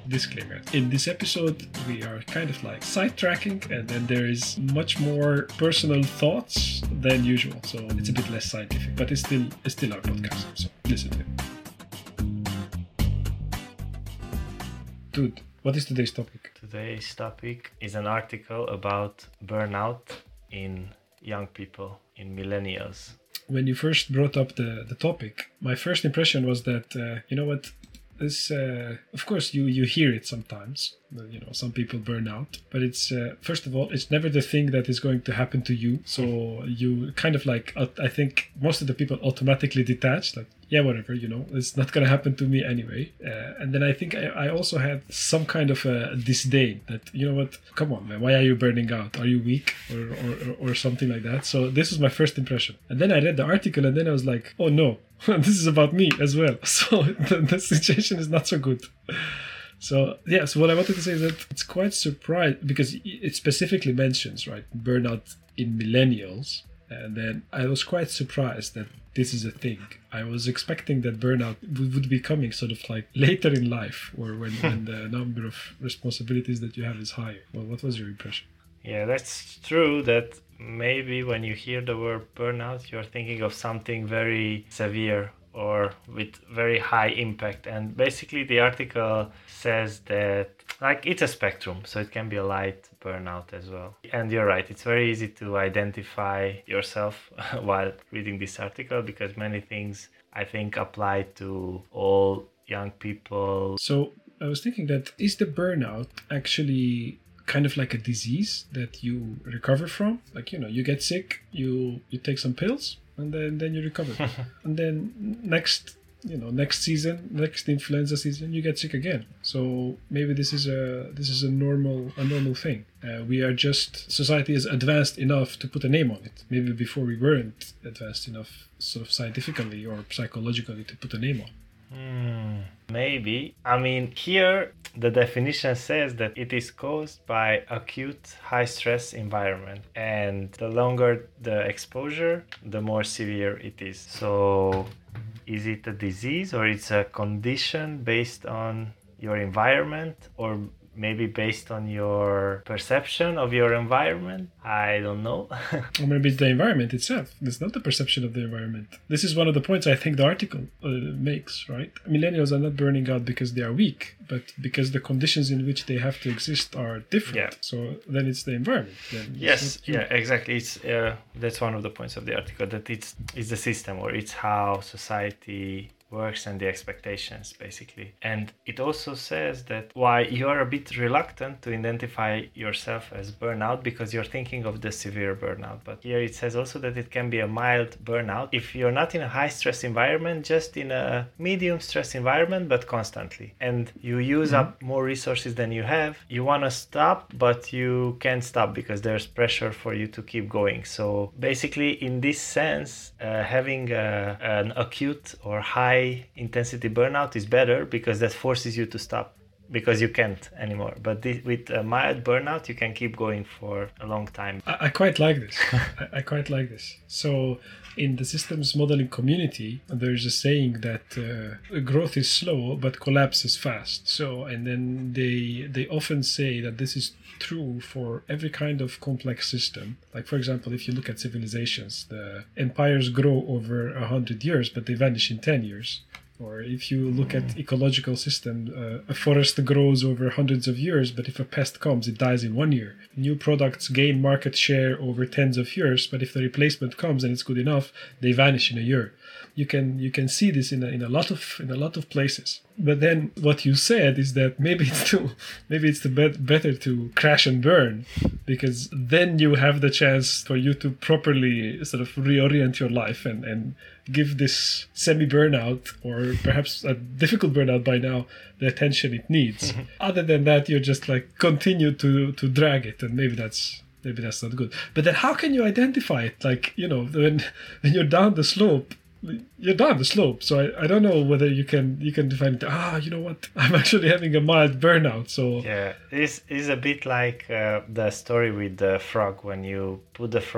Disclaimer. In this episode, we are kind of like sidetracking, and then there is much more personal thoughts than usual. So it's a bit less scientific, but it's still our podcast. So listen to it. Dude, what is today's topic? Today's topic is an article about burnout in young people, in millennials. When you first brought up the topic, my first impression was that, you know what, this, of course, you hear it sometimes. You know, some people burn out, but it's, first of all, it's never the thing that is going to happen to you. So you kind of like, I think most of the people automatically detach, like, yeah, whatever, you know, it's not going to happen to me anyway. And then I think I also had some kind of a disdain that, you know what, come on, man, why are you burning out? Are you weak or something like that? So this was my first impression. And then I read the article and then I was like, oh no, this is about me as well. So the situation is not so good. So what I wanted to say is that it's quite surprised because it specifically mentions, right, burnout in millennials. And then I was quite surprised that this is a thing. I was expecting that burnout would be coming sort of like later in life or when the number of responsibilities that you have is higher. Well, what was your impression? Yeah, that's true that maybe when you hear the word burnout, you're thinking of something very severe or with very high impact. And basically the article says that like it's a spectrum, so it can be a light burnout as well. And you're right, it's very easy to identify yourself while reading this article because many things I think apply to all young people. So I was thinking that is the burnout actually kind of like a disease that you recover from? Like, you know, you get sick, you take some pills and then you recover. And then next season, next influenza season, you get sick again. So maybe this is a normal thing. Society is advanced enough to put a name on it. Maybe before we weren't advanced enough, sort of scientifically or psychologically, to put a name on. Maybe. I mean, here the definition says that it is caused by acute high stress environment, and the longer the exposure, the more severe it is. So is it a disease or it's a condition based on your environment or maybe based on your perception of your environment? I don't know. Or maybe it's the environment itself. It's not the perception of the environment. This is one of the points I think the article makes, right? Millennials are not burning out because they are weak, but because the conditions in which they have to exist are different. Yeah. So then it's the environment. Yes, yeah, exactly. It's that's one of the points of the article, that it's the system or it's how society works and the expectations basically. And it also says that why you are a bit reluctant to identify yourself as burnout because you're thinking of the severe burnout. But here it says also that it can be a mild burnout if you're not in a high stress environment, just in a medium stress environment but constantly, and you use up more resources than you have. You want to stop but you can't stop because there's pressure for you to keep going. So basically in this sense, having an acute or high intensity burnout is better because that forces you to stop because you can't anymore. But with a mild burnout, you can keep going for a long time. I quite like this. I quite like this. So in the systems modeling community, there's a saying that growth is slow, but collapse is fast. So, and then they often say that this is true for every kind of complex system. Like, for example, if you look at civilizations, the empires grow over 100 years, but they vanish in 10 years. Or if you look at ecological system, a forest grows over hundreds of years, but if a pest comes, it dies in 1 year. New products gain market share over tens of years, but if the replacement comes and it's good enough, they vanish in a year. You can see this in a lot of places. But then what you said is that maybe it's better to crash and burn, because then you have the chance for you to properly sort of reorient your life and give this semi-burnout, or perhaps a difficult burnout by now, the attention it needs. Other than that, you just like continue to drag it, and maybe that's not good. But then how can you identify it? Like, you know, when you're down the slope, you're down the slope. So I don't know whether you can define it. You know what? I'm actually having a mild burnout. So yeah, this is a bit like the story with the frog. When you put the frog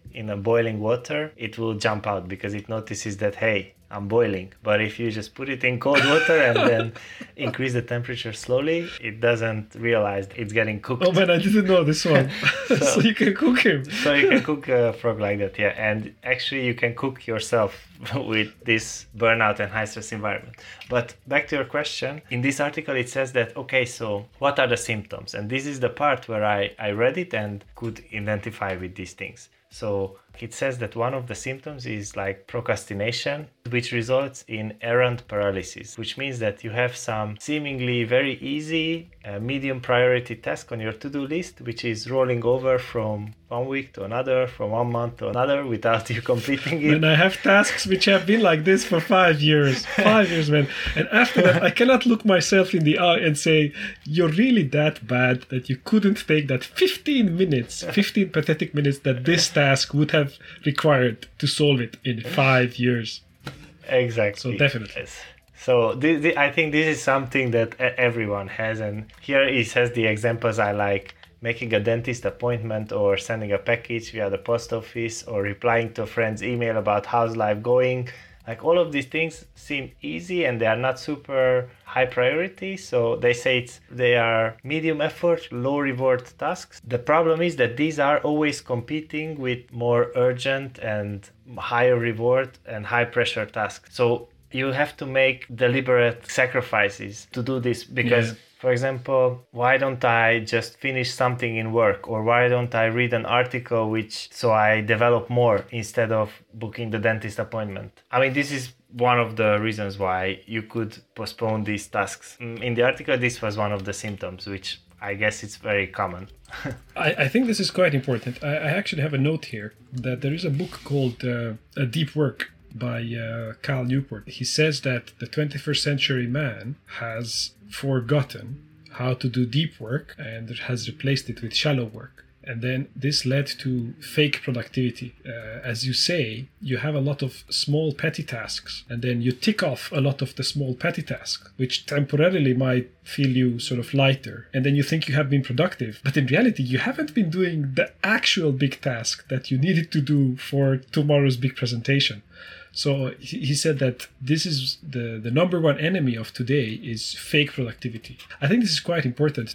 in a boiling water, it will jump out because it notices that, hey, I'm boiling. But if you just put it in cold water and then increase the temperature slowly, it doesn't realize it's getting cooked. Oh man, I didn't know this one. So you can cook him. So you can cook a frog like that, yeah. And actually you can cook yourself with this burnout and high stress environment. But back to your question, in this article it says that, okay, so what are the symptoms? And this is the part where I read it and could identify with these things. So it says that one of the symptoms is like procrastination, which results in errand paralysis, which means that you have some seemingly very easy, medium priority task on your to-do list, which is rolling over from 1 week to another, from 1 month to another without you completing it. And I have tasks which have been like this for 5 years. 5 years, man. And after that, I cannot look myself in the eye and say, you're really that bad that you couldn't take that 15 minutes, 15 pathetic minutes that this task would have required to solve it in 5 years. Exactly. So definitely. Yes. So I think this is something that everyone has. And here he says the examples I like: making a dentist appointment, or sending a package via the post office, or replying to a friend's email about how's life going. Like, all of these things seem easy and they are not super high priority. So they say they are medium effort, low reward tasks. The problem is that these are always competing with more urgent and higher reward and high pressure tasks. So you have to make deliberate sacrifices to do this because, for example, why don't I just finish something in work, or why don't I read an article so I develop more instead of booking the dentist appointment? I mean, this is one of the reasons why you could postpone these tasks. In the article, this was one of the symptoms, which I guess it's very common. I think this is quite important. I actually have a note here that there is a book called A Deep Work by Cal Newport. He says that the 21st century man has forgotten how to do deep work and has replaced it with shallow work. And then this led to fake productivity. As you say, you have a lot of small petty tasks, and then you tick off a lot of the small petty tasks, which temporarily might feel you sort of lighter. And then you think you have been productive, but in reality, you haven't been doing the actual big task that you needed to do for tomorrow's big presentation. So he said that this is the number one enemy of today is fake productivity. I think this is quite important.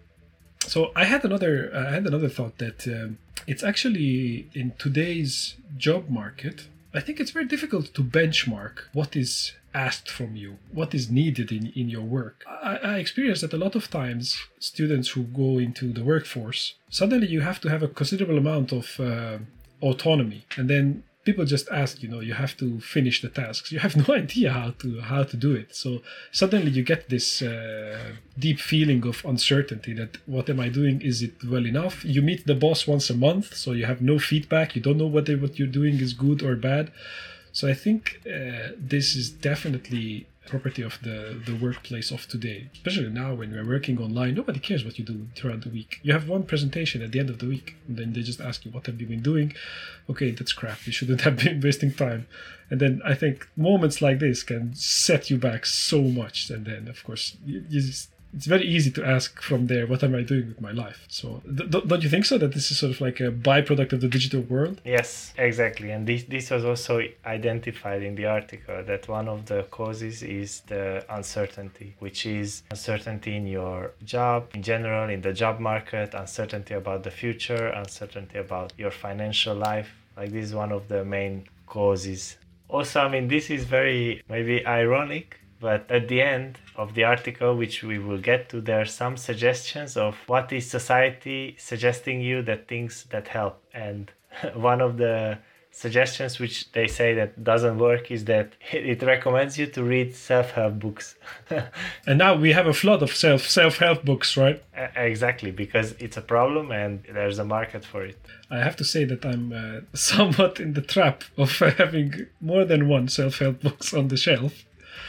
So I had another thought that it's actually in today's job market, I think it's very difficult to benchmark what is asked from you, what is needed in your work. I experienced that a lot of times students who go into the workforce, suddenly you have to have a considerable amount of autonomy, and then people just ask, you have to finish the tasks. You have no idea how to do it. So suddenly you get this deep feeling of uncertainty that what am I doing? Is it well enough? You meet the boss once a month, so you have no feedback. You don't know whether what you're doing is good or bad. So I think this is definitely property of the workplace of today, especially now when we're working online. Nobody cares what you do throughout the week. You have one presentation at the end of the week, and then they just ask you, what have you been doing? Okay, that's crap. You shouldn't have been wasting time. And then I think moments like this can set you back so much. And then, of course, it's very easy to ask from there, what am I doing with my life? So don't you think so, that this is sort of like a byproduct of the digital world? Yes, exactly. And this was also identified in the article, that one of the causes is the uncertainty, which is uncertainty in your job, in general, in the job market, uncertainty about the future, uncertainty about your financial life. Like, this is one of the main causes. Also, I mean, this is very maybe ironic, but at the end of the article, which we will get to, there are some suggestions of what is society suggesting you, that things that help. And one of the suggestions which they say that doesn't work is that it recommends you to read self-help books. And now we have a flood of self-help books, right? Exactly, because it's a problem and there's a market for it. I have to say that I'm somewhat in the trap of having more than one self-help books on the shelf.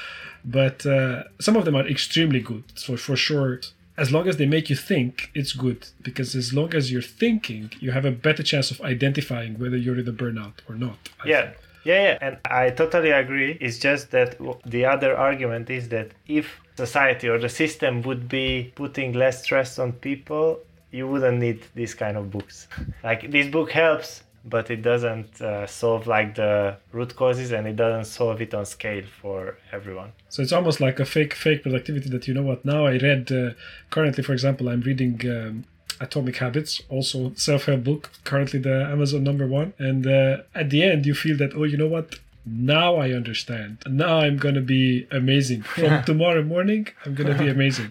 But some of them are extremely good. So for sure, as long as they make you think, it's good. Because as long as you're thinking, you have a better chance of identifying whether you're in a burnout or not. Yeah. And I totally agree. It's just that the other argument is that if society or the system would be putting less stress on people, you wouldn't need these kind of books. Like, this book helps, but it doesn't solve like the root causes, and it doesn't solve it on scale for everyone. So it's almost like a fake productivity that, you know what, now I read, currently, for example, I'm reading Atomic Habits, also self-help book, currently the Amazon #1. And at the end, you feel that, oh, you know what? Now I understand. Now I'm going to be amazing. From tomorrow morning, I'm going to be amazing.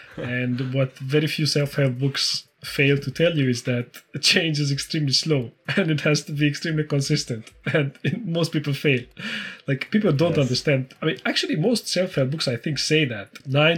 And what very few self-help books fail to tell you is that change is extremely slow and it has to be extremely consistent. And most people fail. Like, people don't understand. I mean, actually, most self-help books, I think, say that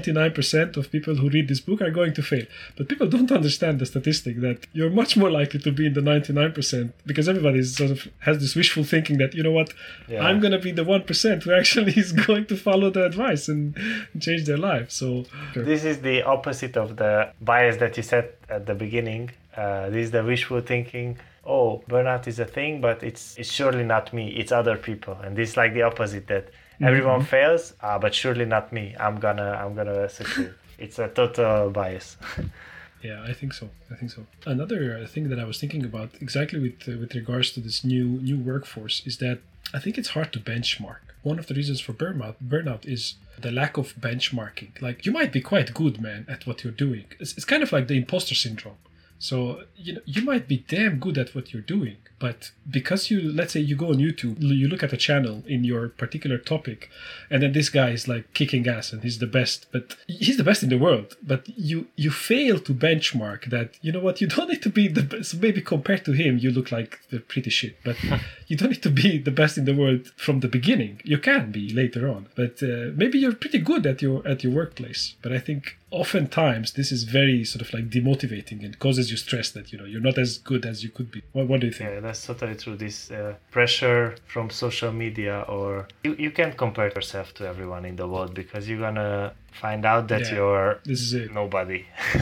99% of people who read this book are going to fail. But people don't understand the statistic that you're much more likely to be in the 99%, because everybody sort of has this wishful thinking that, you know what, I'm going to be the 1% who actually is going to follow the advice and change their life. So this is the opposite of the bias that you said at the beginning. This is the wishful thinking. Oh, burnout is a thing, but it's surely not me. It's other people, and this is like the opposite, that everyone fails, but surely not me. I'm gonna succeed. It's a total bias. Yeah, I think so. Another thing that I was thinking about exactly with regards to this new workforce is that I think it's hard to benchmark. One of the reasons for burnout is the lack of benchmarking. Like, you might be quite good, man, at what you're doing. It's kind of like the imposter syndrome. So, you might be damn good at what you're doing, but because let's say you go on YouTube, you look at a channel in your particular topic, and then this guy is like kicking ass and he's the best, but he's the best in the world. But you fail to benchmark that, you know what, you don't need to be the best. So maybe compared to him, you look like the pretty shit, but you don't need to be the best in the world from the beginning. You can be later on, but maybe you're pretty good at your workplace. But I think oftentimes this is very sort of like demotivating and causes you stress that, you're not as good as you could be. What do you think? Yeah, that's totally true. This pressure from social media, or you can't compare yourself to everyone in the world, because you're gonna find out that you're nobody.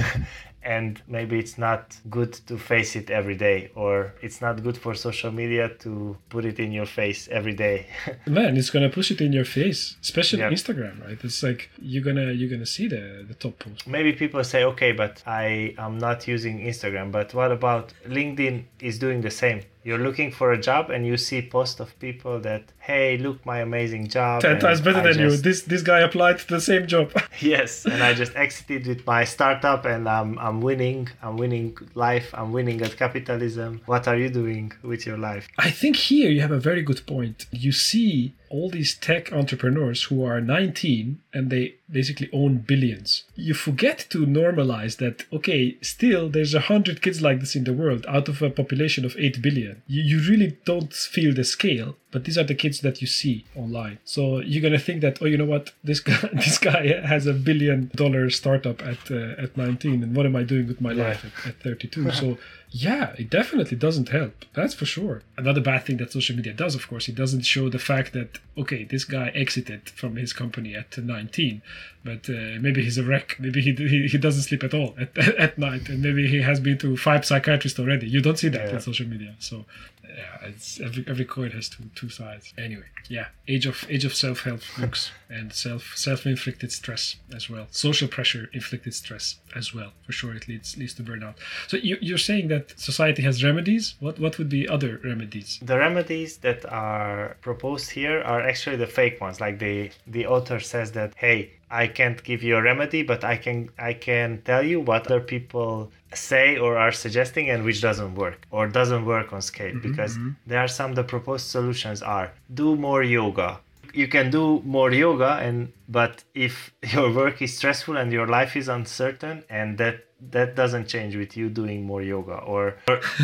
And maybe it's not good to face it every day, or it's not good for social media to put it in your face every day. Man, it's gonna push it in your face, especially Instagram, right? It's like you're gonna see the top post. Maybe people say, okay, but I am not using Instagram. But what about LinkedIn is doing the same? You're looking for a job and you see posts of people that, hey, look, my amazing job. 10 times better than you. This guy applied to the same job. Yes, and I just exited with my startup and I'm winning. I'm winning life. I'm winning at capitalism. What are you doing with your life? I think here you have a very good point. You see all these tech entrepreneurs who are 19 and they basically own billions. You forget to normalize that, okay, still there's 100 kids like this in the world out of a population of 8 billion. You really don't feel the scale, but these are the kids that you see online. So you're going to think that, oh, you know what, this guy has $1 billion startup at 19, and what am I doing with my life at 32? So yeah, it definitely doesn't help. That's for sure. Another bad thing that social media does, of course, it doesn't show the fact that, okay, this guy exited from his company at 19, but maybe he's a wreck. Maybe he doesn't sleep at all at night, and maybe he has been to 5 psychiatrists already. You don't see that on social media. So yeah, it's every coin has two sides. Anyway, yeah, age of self-help books and self-inflicted stress as well. Social pressure inflicted stress as well. For sure, it leads to burnout. So you're saying that society has remedies. What would be other remedies? The remedies that are proposed here are actually the fake ones. Like the author says that, hey, I can't give you a remedy, but I can tell you what other people say or are suggesting and which doesn't work or doesn't work on scale. Because there are the proposed solutions are do more yoga. You can do more yoga, but if your work is stressful and your life is uncertain, and that doesn't change with you doing more yoga. Or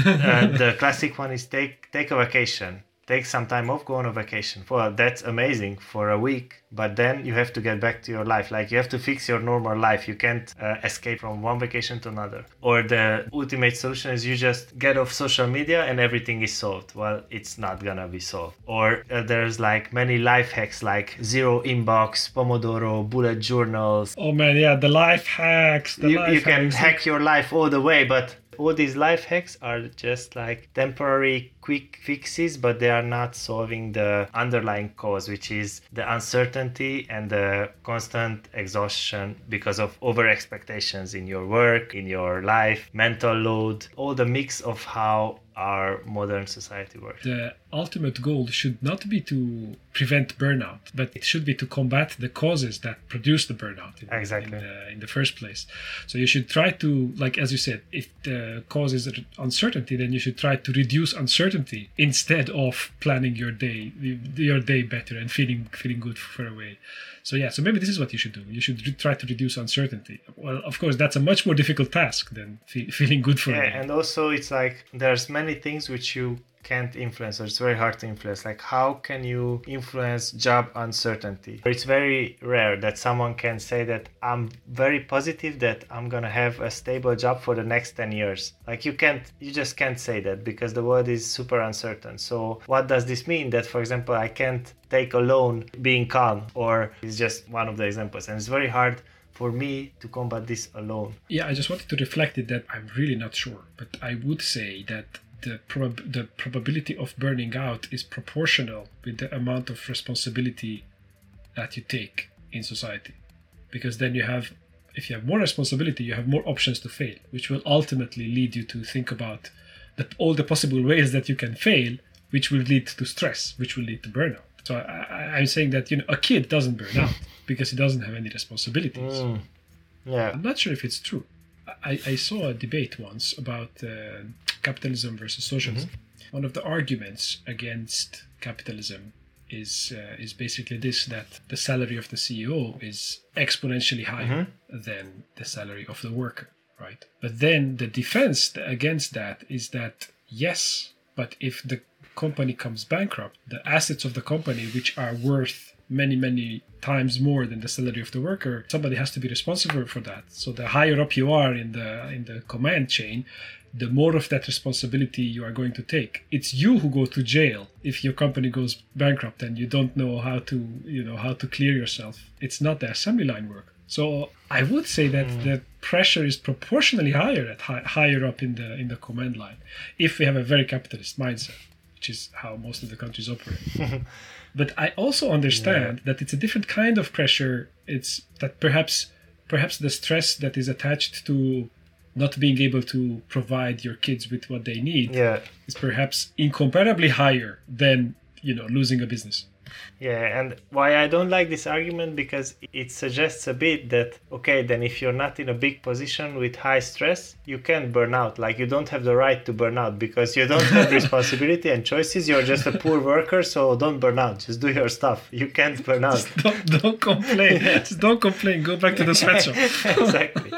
the classic one is take a vacation. Take some time off, go on a vacation. Well, that's amazing for a week, but then you have to get back to your life. Like, you have to fix your normal life. You can't escape from one vacation to another. Or the ultimate solution is you just get off social media and everything is solved. Well, it's not gonna be solved. Or there's like many life hacks like zero inbox, Pomodoro, bullet journals. Oh man, yeah, the life hacks. You can hack your life all the way, but all these life hacks are just like temporary quick fixes, but they are not solving the underlying cause, which is the uncertainty and the constant exhaustion because of over expectations in your work, in your life, mental load, all the mix of how our modern society works. The ultimate goal should not be to prevent burnout, but it should be to combat the causes that produce the burnout in the first place. So you should try to, like as you said, if the cause is uncertainty, then you should try to reduce uncertainty instead of planning your day better and feeling good for a way. So so maybe this is what you should do. You should try to reduce uncertainty. Well, of course, that's a much more difficult task than feeling good for a day. And also it's like there's many things which you can't influence, or it's very hard to influence. Like, how can you influence job uncertainty? It's very rare that someone can say that I'm very positive that I'm gonna have a stable job for the next 10 years. Like, you just can't say that because the world is super uncertain. So what does this mean? That, for example, I can't take a loan being calm, or it's just one of the examples. And it's very hard for me to combat this alone. Yeah, I just wanted to reflect it that I'm really not sure, but I would say that the probability of burning out is proportional with the amount of responsibility that you take in society. Because then if you have more responsibility, you have more options to fail, which will ultimately lead you to think about all the possible ways that you can fail, which will lead to stress, which will lead to burnout. So I'm saying that a kid doesn't burn out because he doesn't have any responsibilities. Yeah, I'm not sure if it's true. I saw a debate once about capitalism versus socialism. Mm-hmm. One of the arguments against capitalism is basically this, that the salary of the CEO is exponentially higher than the salary of the worker, right? But then the defense against that is that, yes, but if the company comes bankrupt, the assets of the company, which are worth many, many times more than the salary of the worker, somebody has to be responsible for that. So the higher up you are in the command chain, the more of that responsibility you are going to take. It's you who go to jail if your company goes bankrupt and you don't know how to clear yourself. It's not the assembly line work. So I would say that the pressure is proportionally higher at higher up in the command line, if we have a very capitalist mindset, which is how most of the countries operate. But I also understand that it's a different kind of pressure. It's that perhaps the stress that is attached to not being able to provide your kids with what they need is perhaps incomparably higher than losing a business. Yeah, and why I don't like this argument, because it suggests a bit that, okay, then if you're not in a big position with high stress, you can burn out. Like, you don't have the right to burn out because you don't have responsibility and choices. You're just a poor worker, so don't burn out. Just do your stuff. You can't burn out. Don't complain. Just don't complain. Go back to the sweatshop. Exactly.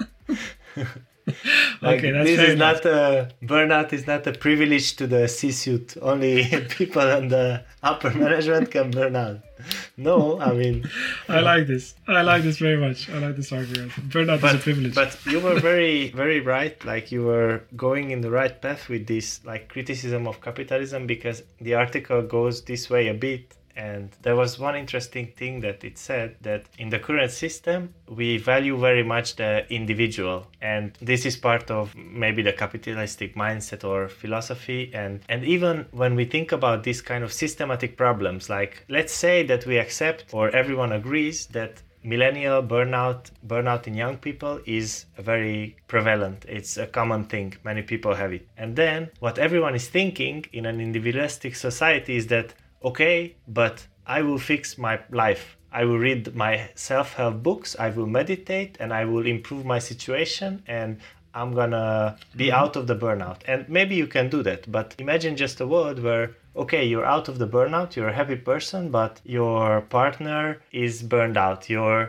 Okay, that's this fair is enough. Burnout is not a privilege to the C-suite. Only people in the upper management can burn out. No, I mean, I like this very much. I like this argument. Burnout is a privilege. But you were very, very right. Like, you were going in the right path with this, like, criticism of capitalism, because the article goes this way a bit. And there was one interesting thing that it said, that in the current system, we value very much the individual. And this is part of maybe the capitalistic mindset or philosophy. And even when we think about these kind of systematic problems, like, let's say that we accept, or everyone agrees, that millennial burnout in young people is very prevalent. It's a common thing. Many people have it. And then what everyone is thinking in an individualistic society is that, okay, but I will fix my life. I will read my self-help books, I will meditate, and I will improve my situation, and I'm gonna be out of the burnout. And maybe you can do that, but imagine just a world where, okay, you're out of the burnout, you're a happy person, but your partner is burned out. Your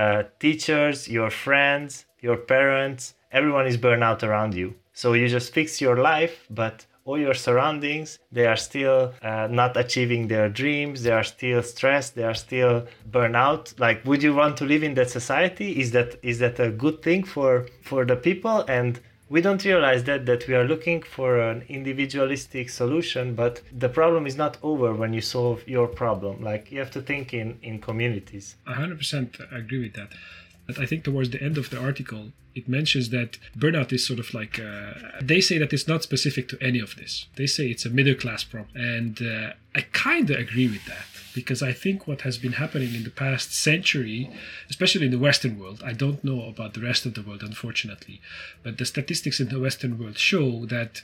teachers, your friends, your parents, everyone is burned out around you. So you just fix your life, but all your surroundings, they are still not achieving their dreams, they are still stressed, they are still burnout. Like, would you want to live in that society? Is that a good thing for the people? And we don't realize that we are looking for an individualistic solution, but the problem is not over when you solve your problem. Like, you have to think in communities. 100% agree with that. But I think towards the end of the article, it mentions that burnout is sort of like, they say that it's not specific to any of this. They say it's a middle class problem. And I kind of agree with that, because I think what has been happening in the past century, especially in the Western world, I don't know about the rest of the world, unfortunately, but the statistics in the Western world show that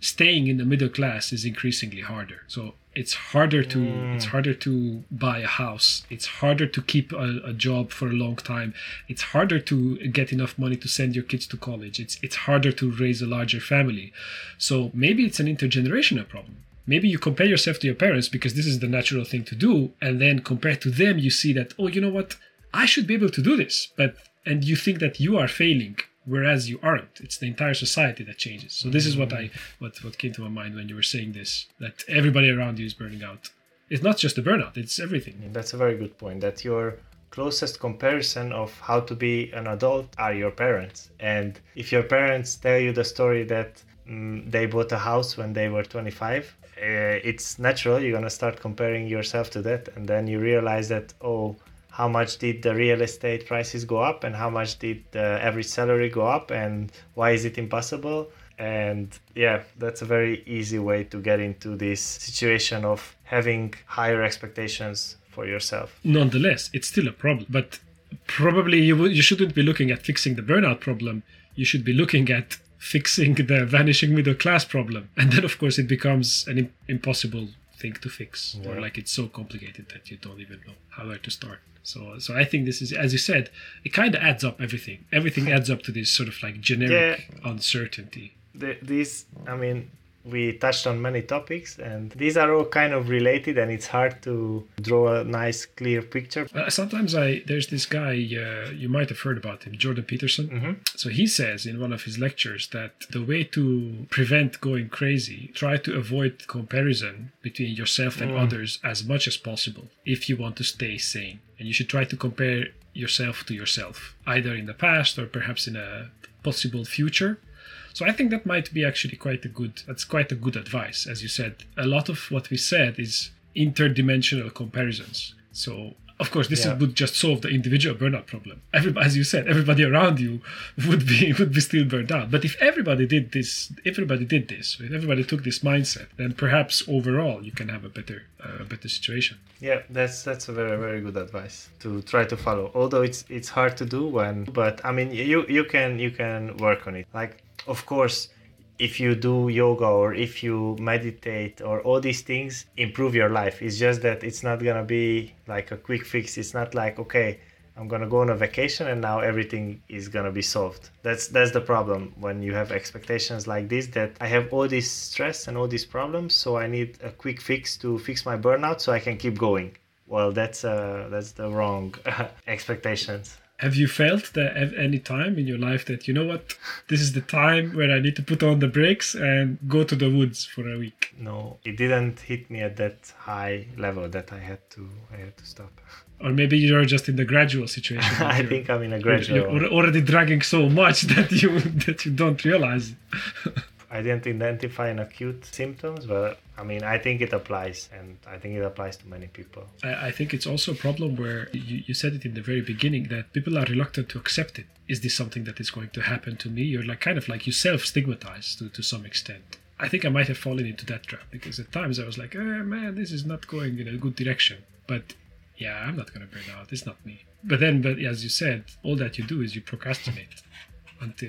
staying in the middle class is increasingly harder. So it's harder to buy a house. It's harder to keep a job for a long time. It's harder to get enough money to send your kids to college. It's harder to raise a larger family. So maybe it's an intergenerational problem. Maybe you compare yourself to your parents because this is the natural thing to do, and then compared to them, you see that, oh, you know what, I should be able to do this, and you think that you are failing, whereas you aren't. It's the entire society that changes. So this is what came to my mind when you were saying this, that everybody around you is burning out. It's not just the burnout, it's everything. That's a very good point, that your closest comparison of how to be an adult are your parents. And if your parents tell you the story that they bought a house when they were 25, it's natural, you're going to start comparing yourself to that, and then you realize that, oh, how much did the real estate prices go up, and how much did the average salary go up, and why is it impossible? And yeah, that's a very easy way to get into this situation of having higher expectations for yourself. Nonetheless, it's still a problem, but probably you shouldn't be looking at fixing the burnout problem. You should be looking at fixing the vanishing middle class problem, and then of course it becomes an impossible thing to fix, or like it's so complicated that you don't even know where to start. So I think this is, as you said, it kind of adds up. Everything adds up to this sort of like generic uncertainty. We touched on many topics, and these are all kind of related, and it's hard to draw a nice, clear picture. Sometimes there's this guy, you might have heard about him, Jordan Peterson. Mm-hmm. So he says in one of his lectures that the way to prevent going crazy, try to avoid comparison between yourself and others as much as possible if you want to stay sane. And you should try to compare yourself to yourself, either in the past or perhaps in a possible future. So I think that might be actually quite a good advice. As you said, a lot of what we said is interdimensional comparisons. So of course this would just solve the individual burnout problem. As you said, everybody around you would be still burned out. But if everybody did this, if everybody took this mindset, then perhaps overall you can have a better situation. Yeah, that's a very, very good advice to try to follow. Although it's hard to do but I mean you can work on it. Like, of course, if you do yoga or if you meditate or all these things improve your life. It's just that it's not gonna be like a quick fix. It's not like, okay, I'm gonna go on a vacation and now everything is gonna be solved. That's the problem when you have expectations like this, that I have all this stress and all these problems, so I need a quick fix to fix my burnout so I can keep going. Well, that's the wrong expectations. Have you felt that at any time in your life that, you know what, this is the time where I need to put on the brakes and go to the woods for a week? No, it didn't hit me at that high level that I had to stop. Or maybe you're just in the gradual situation. I think I'm in a gradual. You're already dragging so much that you don't realize it. I didn't identify an acute symptoms, but I mean, I think it applies, and I think it applies to many people. I think it's also a problem where you said it in the very beginning, that people are reluctant to accept it. Is this something that is going to happen to me? You're like kind of like you self-stigmatize to some extent. I think I might have fallen into that trap, because at times I was like, man, this is not going in a good direction. But yeah, I'm not going to burn out. It's not me. But as you said, all that you do is you procrastinate. Until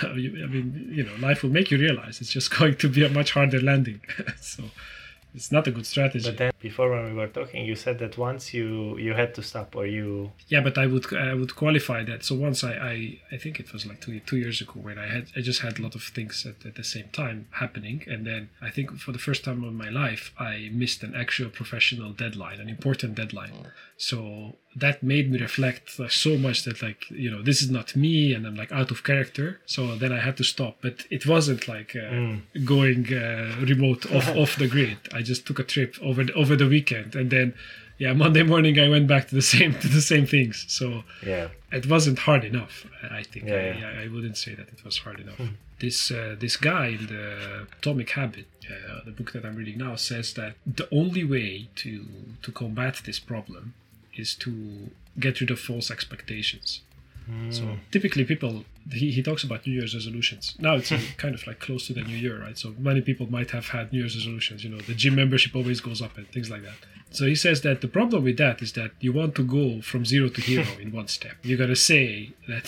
life will make you realize it's just going to be a much harder landing. So it's not a good strategy. But then before, when we were talking, you said that once you had to stop, or you... Yeah, but I would qualify that. So once I think it was like two years ago, when I just had a lot of things at the same time happening, and then I think for the first time in my life I missed an actual professional deadline, an important deadline. So that made me reflect so much that, like, this is not me, and I'm like out of character. So then I had to stop. But it wasn't like going remote off the grid. I just took a trip over the weekend, and then Monday morning I went back to the same things. So it wasn't hard enough. I think I wouldn't say that it was hard enough. This guy in the Atomic Habit, the book that I'm reading now, says that the only way to combat this problem is to get rid of false expectations. So typically people he talks about New Year's resolutions. Now it's kind of like close to the New Year, right? So many people might have had New Year's resolutions. The gym membership always goes up and things like that. So he says that the problem with that is that you want to go from zero to hero in one step. You got to say that,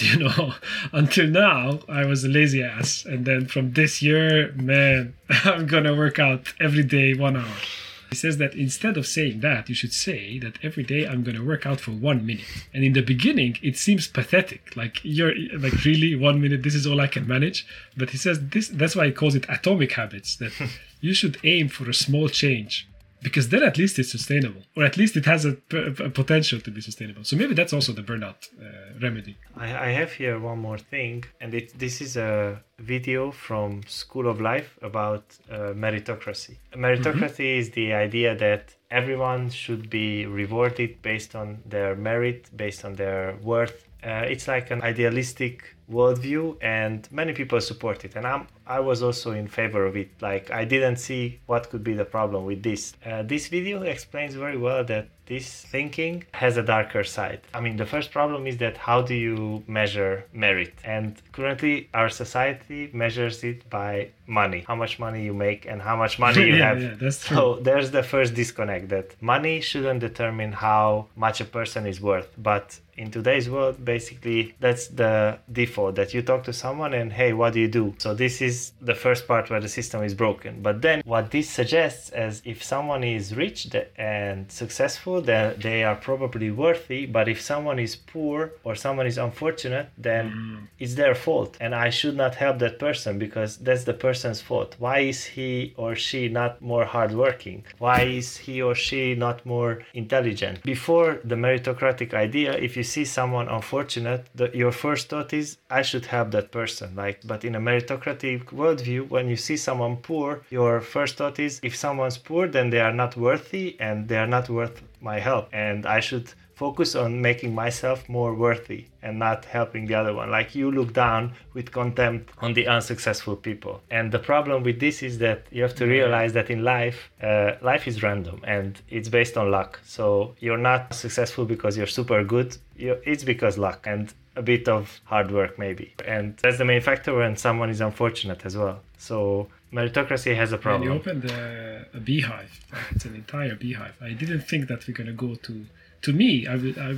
until now I was a lazy ass. And then from this year, man, I'm going to work out every day 1 hour. He says that instead of saying that, you should say that every day I'm going to work out for 1 minute. And in the beginning, it seems pathetic. Like, you're like, really, 1 minute, this is all I can manage. But he says that's why he calls it atomic habits, that you should aim for a small change. Because then at least it's sustainable, or at least it has a potential to be sustainable. So maybe that's also the burnout remedy. I have here one more thing, and this is a video from School of Life about meritocracy. Meritocracy is the idea that everyone should be rewarded based on their merit, based on their worth. It's like an idealistic worldview, and many people support it, and I was also in favor of it. Like, I didn't see what could be the problem with this. This video explains very well that this thinking has a darker side. I mean, the first problem is that how do you measure merit? And currently our society measures it by money, how much money you make and how much money you have. Yeah, that's true. So there's the first disconnect, that money shouldn't determine how much a person is worth. But in today's world, basically, that's the default, that you talk to someone and, hey, what do you do? So this is the first part where the system is broken. But then what this suggests is, if someone is rich and successful, then they are probably worthy. But if someone is poor or someone is unfortunate, then it's their fault. And I should not help that person because that's the person's fault. Why is he or she not more hardworking? Why is he or she not more intelligent? Before the meritocratic idea, if you see someone unfortunate, your first thought is, I should help that person. But in a meritocratic worldview, when you see someone poor, your first thought is, if someone's poor, then they are not worthy and they are not worth my help, and I should focus on making myself more worthy and not helping the other one. Like, you look down with contempt on the unsuccessful people. And the problem with this is that you have to realize that in life, life is random and it's based on luck. So you're not successful because you're super good. It's because luck and a bit of hard work maybe. And that's the main factor when someone is unfortunate as well. So meritocracy has a problem. And you opened a beehive. It's an entire beehive. I didn't think that we're going to go to me.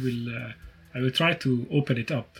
I will try to open up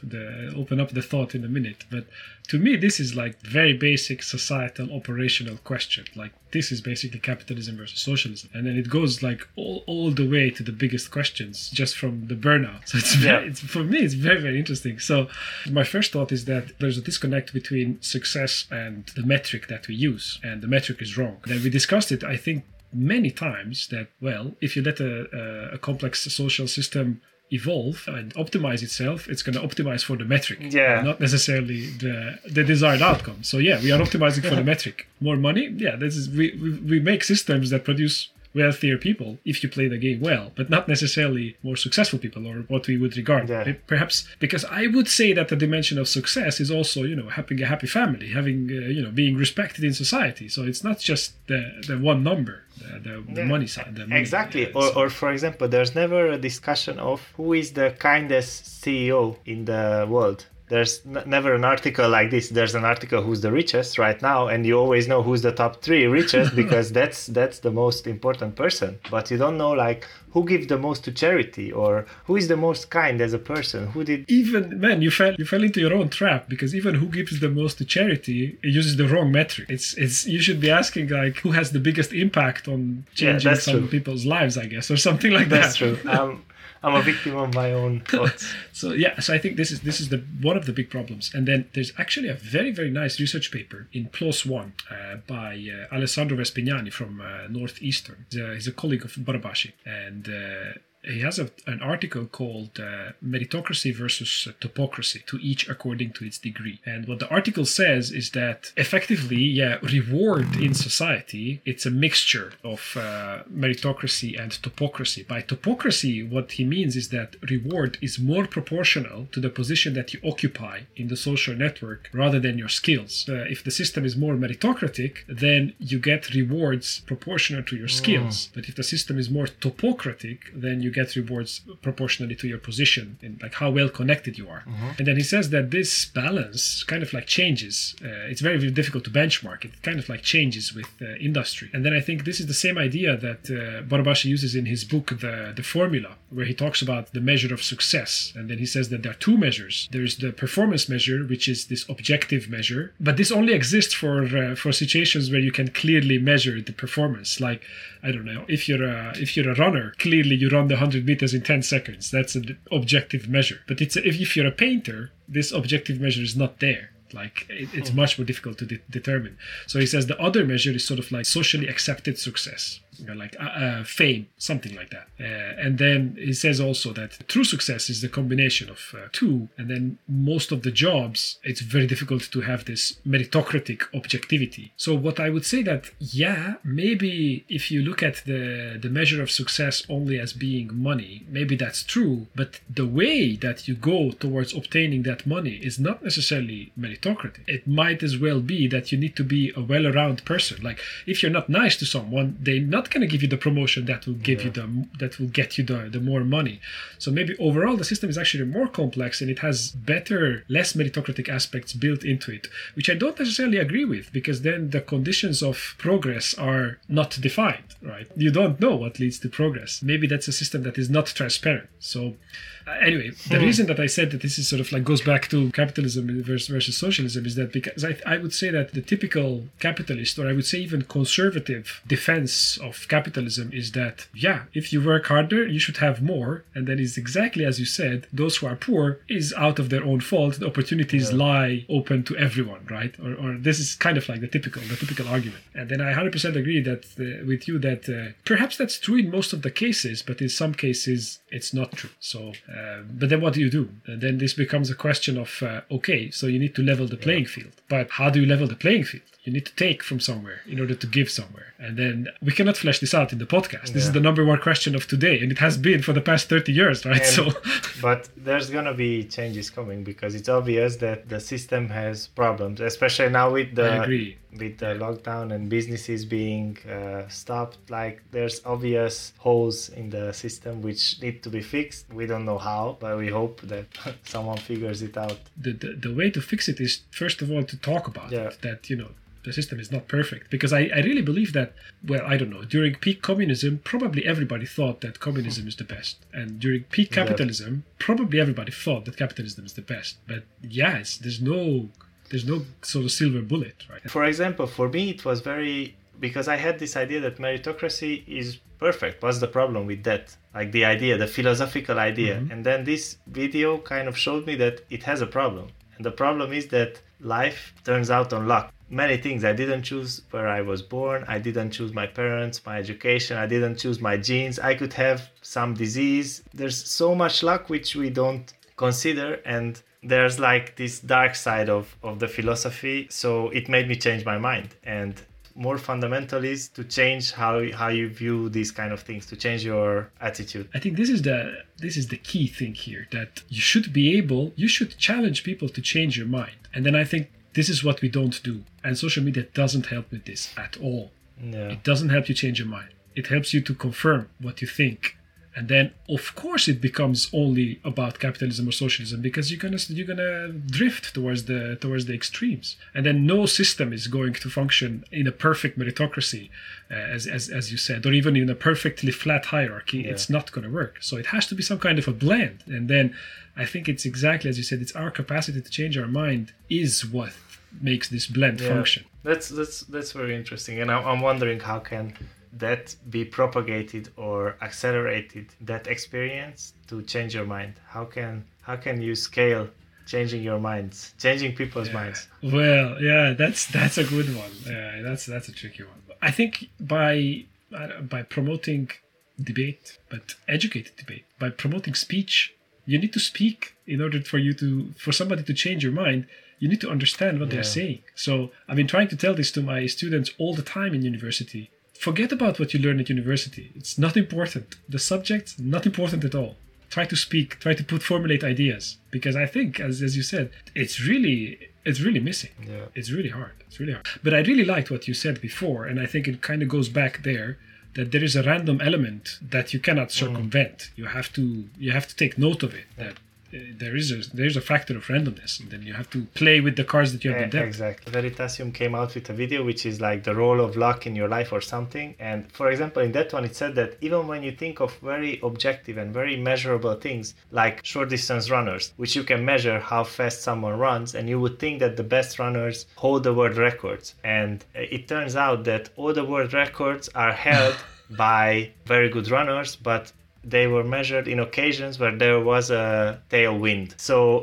the thought in a minute. But to me, this is like very basic societal operational question. Like, this is basically capitalism versus socialism, and then it goes like all the way to the biggest questions just from the burnout. So for me, it's very, very interesting. So my first thought is that there's a disconnect between success and the metric that we use, and the metric is wrong. Then we discussed it, I think, many times, that, well, if you let a complex social system evolve and optimize itself, it's going to optimize for the metric, not necessarily the desired outcome. So we are optimizing for the metric. More money, this is we make systems that produce wealthier people if you play the game well, but not necessarily more successful people, or what we would regard. Perhaps because I would say that the dimension of success is also, having a happy family, having being respected in society. So it's not just the one number, the money side. The money, exactly. Or for example, there's never a discussion of who is the kindest CEO in the world. There's never an article like this. There's an article who's the richest right now, and you always know who's the top 3 richest because that's the most important person. But you don't know, like, who gives the most to charity, or who is the most kind as a person. Who did even, man, you fell into your own trap, because even who gives the most to charity, it uses the wrong metric. It's you should be asking, like, who has the biggest impact on changing some people's lives, I guess, or something like that. That's true. I'm a victim of my own thoughts. So I think this is one of the big problems. And then there's actually a very, very nice research paper in PLOS ONE by Alessandro Vespignani from Northeastern. He's a colleague of Barabasi, and he has an article called Meritocracy versus Topocracy, to each according to its degree. And what the article says is that effectively, reward in society, it's a mixture of meritocracy and topocracy. By topocracy, what he means is that reward is more proportional to the position that you occupy in the social network rather than your skills. If the system is more meritocratic, then you get rewards proportional to your skills. But if the system is more topocratic, then you you get rewards proportionally to your position and like how well connected you are. And then he says that this balance kind of like changes. It's very, very difficult to benchmark. It kind of like changes with industry. And then I think this is the same idea that Barabási uses in his book, The Formula, where he talks about the measure of success. And then he says that there are two measures. There's the performance measure, which is this objective measure, but this only exists for situations where you can clearly measure the performance. Like, I don't know, if you're a runner, clearly you run the 100 meters in 10 seconds. That's an objective measure. But if you're a painter, this objective measure is not there. Like it's much more difficult to determine. So he says the other measure is sort of like socially accepted success, like fame, something like that. And then he says also that true success is the combination of two. And then most of the jobs, it's very difficult to have this meritocratic objectivity. So what I would say that, yeah, maybe if you look at the measure of success only as being money, maybe that's true. But the way that you go towards obtaining that money is not necessarily meritocratic. It might as well be that you need to be a well-around person. Like if you're not nice to someone, they're not going to give you the promotion that will give you that will get you the more money. So maybe overall the system is actually more complex and it has better, less meritocratic aspects built into it, which I don't necessarily agree with, because then the conditions of progress are not defined, right? You don't know what leads to progress. Maybe that's a system that is not transparent. So anyway, the reason that I said that this is sort of like goes back to capitalism versus socialism is that because I would say that the typical capitalist, or I would say even conservative defense of capitalism is that, yeah, if you work harder, you should have more. And then it's exactly as you said, those who are poor is out of their own fault. The opportunities lie open to everyone, right? Or this is kind of like the typical argument. And then I 100% agree that with you that perhaps that's true in most of the cases, but in some cases it's not true. So but then what do you do? And then this becomes a question of, okay, so you need to level the playing field. But how do you level the playing field? You need to take from somewhere in order to give somewhere. And then we cannot flesh this out in the podcast. This is the number one question of today. And it has been for the past 30 years, right? But there's going to be changes coming because it's obvious that the system has problems, especially now with the lockdown and businesses being stopped. Like there's obvious holes in the system which need to be fixed. We don't know how, but we hope that someone figures it out. The way to fix it is, first of all, to talk about it. That, the system is not perfect. Because I really believe that, well, I don't know, during peak communism, probably everybody thought that communism is the best. And during peak capitalism, probably everybody thought that capitalism is the best. But yes, there's no sort of silver bullet, right? For example, for me, it was because I had this idea that meritocracy is perfect. What's the problem with that? Like the philosophical idea. And then this video kind of showed me that it has a problem. And the problem is that life turns out on luck. Many things. I didn't choose where I was born. I didn't choose my parents, my education. I didn't choose my genes. I could have some disease. There's so much luck which we don't consider. And there's like this dark side of the philosophy. So it made me change my mind. And more fundamental is to change how you view these kind of things, to change your attitude. I think this is the key thing here, that you should challenge people to change your mind. And then I think this is what we don't do. And social media doesn't help with this at all. Yeah. It doesn't help you change your mind. It helps you to confirm what you think. And then, of course, it becomes only about capitalism or socialism, because you're gonna drift towards the extremes. And then no system is going to function in a perfect meritocracy, as you said, or even in a perfectly flat hierarchy. Yeah. It's not going to work. So it has to be some kind of a blend. And then I think it's exactly as you said. It's our capacity to change our mind is what makes this blend function. That's very interesting. And I'm wondering, how can that be propagated or accelerated, that experience to change your mind? How can you scale changing your minds, changing people's minds? Well, yeah, that's a good one. Yeah, that's a tricky one. I think by promoting debate, but educated debate, by promoting speech. You need to speak in order for somebody to change your mind. You need to understand what they're saying. So I've been trying to tell this to my students all the time in university. Forget about what you learn at university. It's not important. The subject, not important at all. Try to speak, try to formulate ideas. Because I think, as you said, it's really missing. Yeah. It's really hard. But I really liked what you said before, and I think it kind of goes back there that there is a random element that you cannot circumvent. You have to take note of it, that there's a factor of randomness, and then you have to play with the cards that you have been dealt. Exactly. Veritasium came out with a video which is like the role of luck in your life or something. And for example, in that one, it said that even when you think of very objective and very measurable things like short distance runners, which you can measure how fast someone runs, and you would think that the best runners hold the world records. And it turns out that all the world records are held by very good runners, but they were measured in occasions where there was a tailwind. So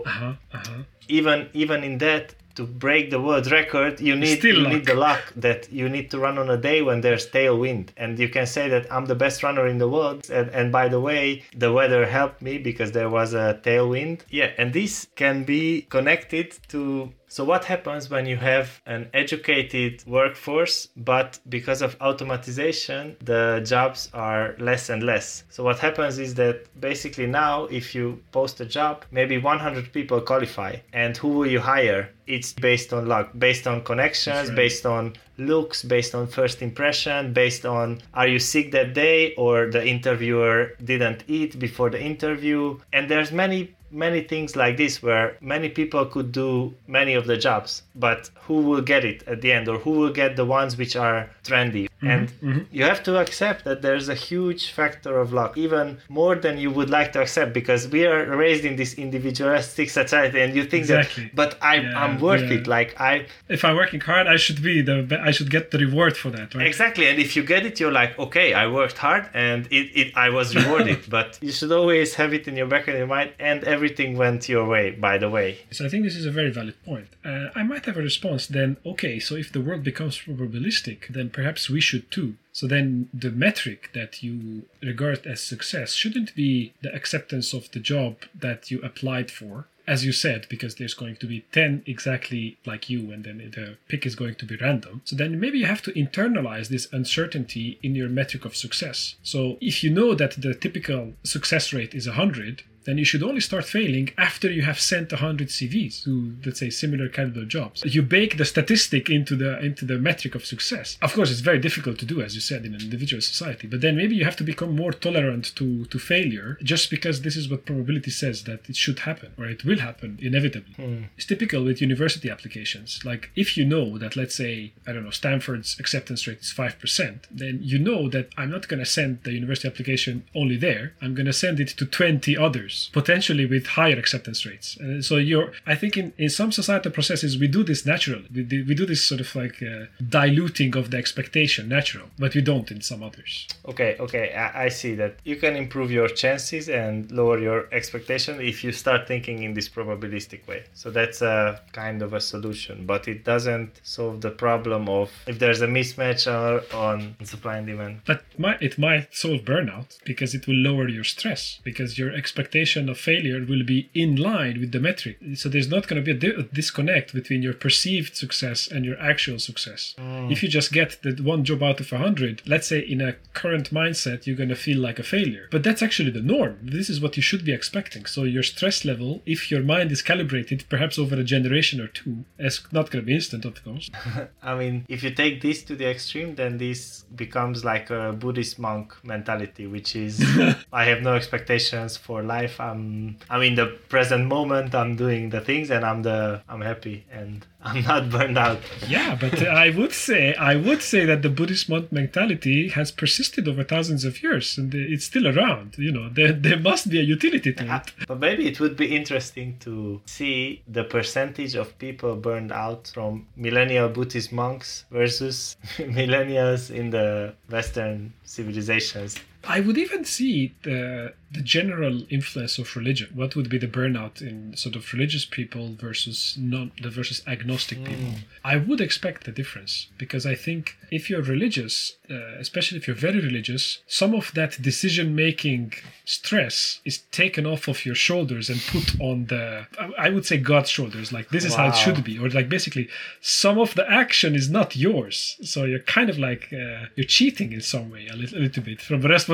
even in that, to break the world record, you need the luck that you need to run on a day when there's tailwind. And you can say that I'm the best runner in the world. And by the way, the weather helped me because there was a tailwind. Yeah, and this can be connected to... So what happens when you have an educated workforce, but because of automatization, the jobs are less and less? So what happens is that basically now, if you post a job, maybe 100 people qualify. And who will you hire? It's based on luck, based on connections, based on looks, based on first impression, based on are you sick that day or the interviewer didn't eat before the interview. And there's many things like this where many people could do many of the jobs, but who will get it at the end, or who will get the ones which are trendy? And you have to accept that there's a huge factor of luck, even more than you would like to accept, because we are raised in this individualistic society, and you think that, but I'm worth it. Like if I'm working hard, I should get the reward for that, right? Exactly. And if you get it, you're like, okay, I worked hard and I was rewarded. But you should always have it in your back of your mind, and everything went your way, by the way. So I think this is a very valid point. I might have a response then. Okay, so if the world becomes probabilistic, then perhaps we should too. So then the metric that you regard as success shouldn't be the acceptance of the job that you applied for, as you said, because there's going to be 10 exactly like you, and then the pick is going to be random. So then maybe you have to internalize this uncertainty in your metric of success. So if you know that the typical success rate is 100, then you should only start failing after you have sent 100 CVs to, let's say, similar caliber jobs. You bake the statistic into the metric of success. Of course, it's very difficult to do, as you said, in an individual society. But then maybe you have to become more tolerant to failure, just because this is what probability says that it should happen, or it will happen inevitably. It's typical with university applications. Like if you know that, let's say, I don't know, Stanford's acceptance rate is 5%, then you know that I'm not going to send the university application only there. I'm going to send it to 20 others, potentially with higher acceptance rates. So I think in some societal processes, we do this naturally. We do this sort of like diluting of the expectation natural, but we don't in some others. Okay. I see that you can improve your chances and lower your expectation if you start thinking in this probabilistic way. So that's a kind of a solution, but it doesn't solve the problem of if there's a mismatch on supply and demand. But it might solve burnout, because it will lower your stress, because your expectation of failure will be in line with the metric. So there's not going to be a disconnect between your perceived success and your actual success. If you just get the one job out of 100, let's say in a current mindset, you're going to feel like a failure. But that's actually the norm. This is what you should be expecting. So your stress level, if your mind is calibrated, perhaps over a generation or two, it's not going to be instant, of course. I mean, if you take this to the extreme, then this becomes like a Buddhist monk mentality, which is I have no expectations for life. I'm in the present moment. I'm doing the things, and I'm happy, and I'm not burned out. Yeah, but I would say that the Buddhist monk mentality has persisted over thousands of years, and it's still around. You know, there must be a utility to it. But maybe it would be interesting to see the percentage of people burned out from millennial Buddhist monks versus millennials in the Western civilizations. I would even see the general influence of religion. What would be the burnout in sort of religious people versus agnostic people? I would expect the difference, because I think if you're religious, especially if you're very religious, some of that decision-making stress is taken off of your shoulders and put on I would say God's shoulders. Like, this is how it should be. Or like basically some of the action is not yours. So you're kind of like, you're cheating in some way a little bit from the responsibility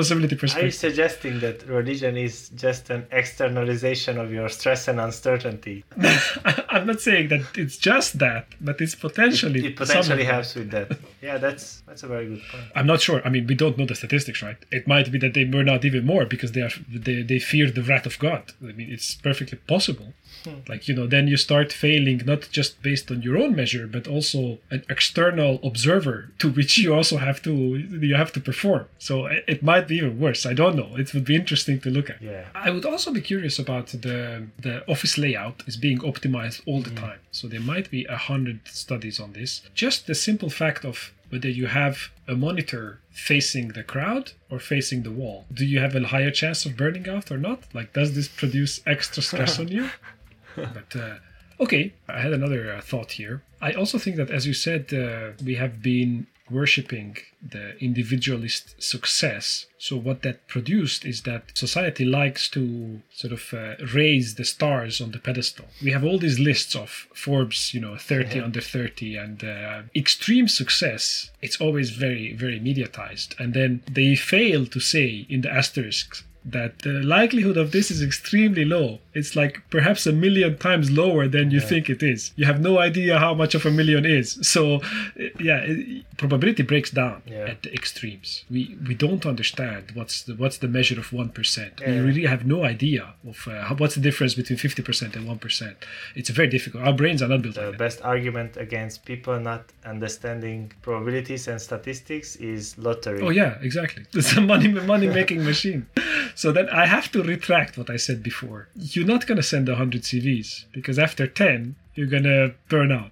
responsibility Are you perspective. suggesting that religion is just an externalization of your stress and uncertainty? I'm not saying that it's just that, but it's potentially. It potentially some of helps with that. Yeah, that's a very good point. I'm not sure. I mean, we don't know the statistics, right? It might be that they burn out even more because they fear the wrath of God. I mean, it's perfectly possible. Like, then you start failing not just based on your own measure, but also an external observer to which you also have to perform. So it might be even worse. I don't know. It would be interesting to look at. Yeah. I would also be curious about the office layout is being optimized all the time. So there might be 100 studies on this. Just the simple fact of whether you have a monitor facing the crowd or facing the wall. Do you have a higher chance of burning out or not? Like, does this produce extra stress on you? But okay, I had another thought here. I also think that, as you said, we have been worshipping the individualist success. So what that produced is that society likes to sort of raise the stars on the pedestal. We have all these lists of Forbes, 30 under 30, and extreme success. It's always very, very mediatized. And then they fail to say in the asterisks that the likelihood of this is extremely low. It's like perhaps 1 million times lower than you think it is. You have no idea how much of 1 million is. So, probability breaks down at the extremes. We don't understand what's the measure of 1%. We really have no idea of what's the difference between 50% and 1%. It's very difficult. Our brains are not built like that. The best argument against people not understanding probabilities and statistics is lottery. Oh yeah, exactly. It's a money-making machine. So then I have to retract what I said before. You're not going to send 100 CVs because after 10, you're going to burn out.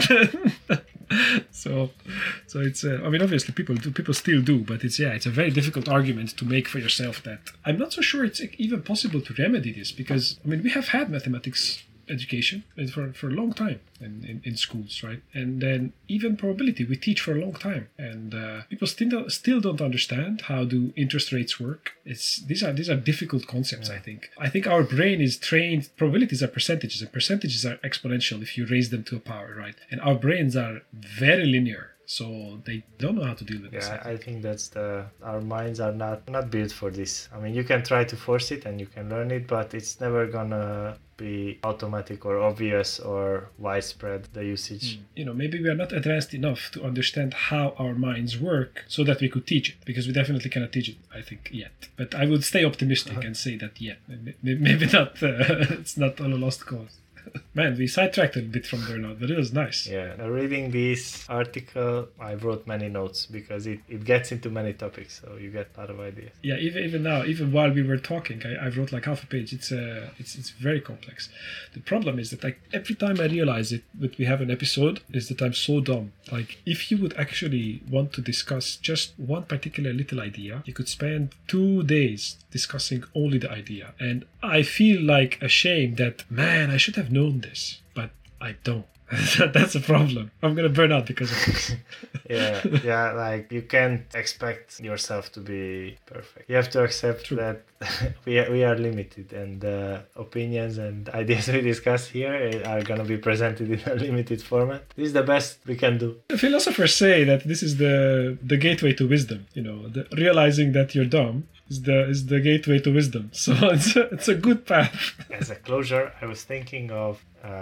So it's I mean, obviously people still do, but it's a very difficult argument to make for yourself. That I'm not so sure it's even possible to remedy this, because I mean, we have had mathematics education for a long time in schools, right? And then even probability we teach for a long time, and people still don't understand how do interest rates work. These are difficult concepts. I think our brain is trained. Probabilities are percentages, and percentages are exponential if you raise them to a power, right? And our brains are very linear, so they don't know how to deal with this. Yeah, I think that's our minds are not built for this. I mean, you can try to force it and you can learn it, but it's never gonna be automatic or obvious or widespread, the usage. Maybe we are not advanced enough to understand how our minds work so that we could teach it, because we definitely cannot teach it, I think, yet. But I would stay optimistic and say that, maybe not. It's not all a lost cause. Man, we sidetracked a bit from burnout, but it was nice. Yeah, reading this article, I wrote many notes because it gets into many topics, so you get a lot of ideas. Yeah, even now, even while we were talking, I wrote like half a page. It's very complex. The problem is that like every time I realize it, that we have an episode, is that I'm so dumb. Like, if you would actually want to discuss just one particular little idea, you could spend 2 days discussing only the idea. And I feel like ashamed that, man, I should have known this, but I don't. That's a problem. I'm gonna burn out because of this. yeah, like you can't expect yourself to be perfect. You have to accept that we are limited, and the opinions and ideas we discuss here are gonna be presented in a limited format. This is the best we can do. The philosophers say that this is the gateway to wisdom. Realizing that you're dumb is the gateway to wisdom. So it's a good path. As a closure, I was thinking of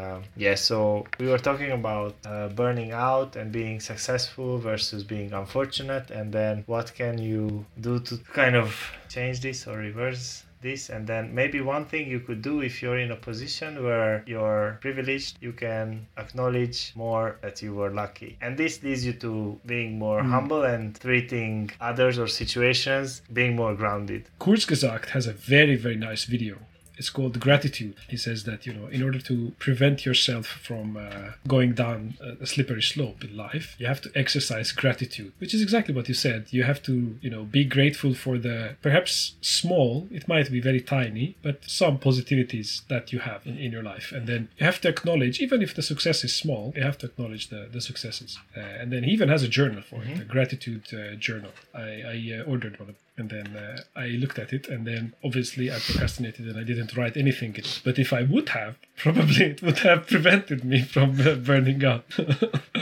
so we were talking about burning out and being successful versus being unfortunate, and then what can you do to kind of change this or reverse this. And then maybe one thing you could do, if you're in a position where you're privileged, you can acknowledge more that you were lucky, and this leads you to being more humble and treating others or situations being more grounded. Kurzgesagt has a very, very nice video. It's called Gratitude. He says that, in order to prevent yourself from going down a slippery slope in life, you have to exercise gratitude, which is exactly what you said. You have to, be grateful for the perhaps small, it might be very tiny, but some positivities that you have in your life. And then you have to acknowledge, even if the success is small, you have to acknowledge the successes. And then he even has a journal for it, a gratitude journal. I ordered one of them. And then I looked at it, and then obviously I procrastinated and I didn't write anything in it. But if I would have, probably it would have prevented me from burning out.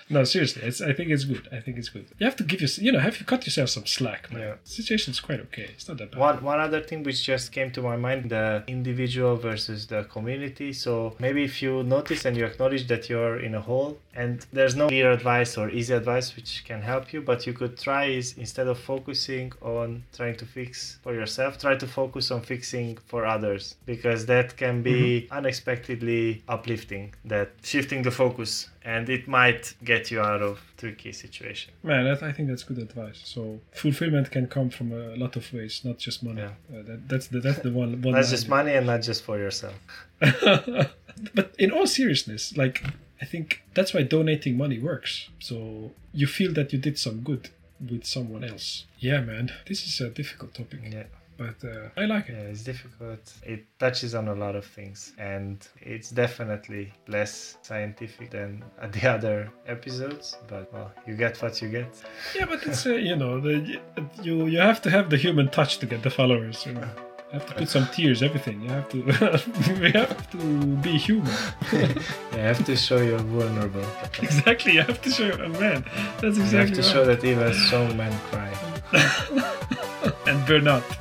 No, seriously, I think it's good. I think it's good. You have to give have you cut yourself some slack, man. Yeah. The situation's quite okay. It's not that bad. One other thing which just came to my mind, the individual versus the community. So maybe if you notice and you acknowledge that you're in a hole and there's no clear advice or easy advice which can help you, but you could try is, instead of focusing on trying to fix for yourself, try to focus on fixing for others, because that can be unexpectedly uplifting, that shifting the focus, and it might get you out of tricky situation. Man, I think that's good advice. So fulfillment can come from a lot of ways, not just money. Yeah. That's the one. Not just money and not just for yourself. But in all seriousness, like, I think that's why donating money works. So you feel that you did some good with someone else. Yeah, man, this is a difficult topic. Yeah. But I like it. Yeah, it's difficult. It touches on a lot of things, and it's definitely less scientific than the other episodes. But well, you get what you get. Yeah, but it's you have to have the human touch to get the followers. You have to put some tears, everything. You have to we have to be human. You have to show you're vulnerable. Exactly, you have to show. Oh, man, that's exactly. You have to show that even strong men cry and burn out.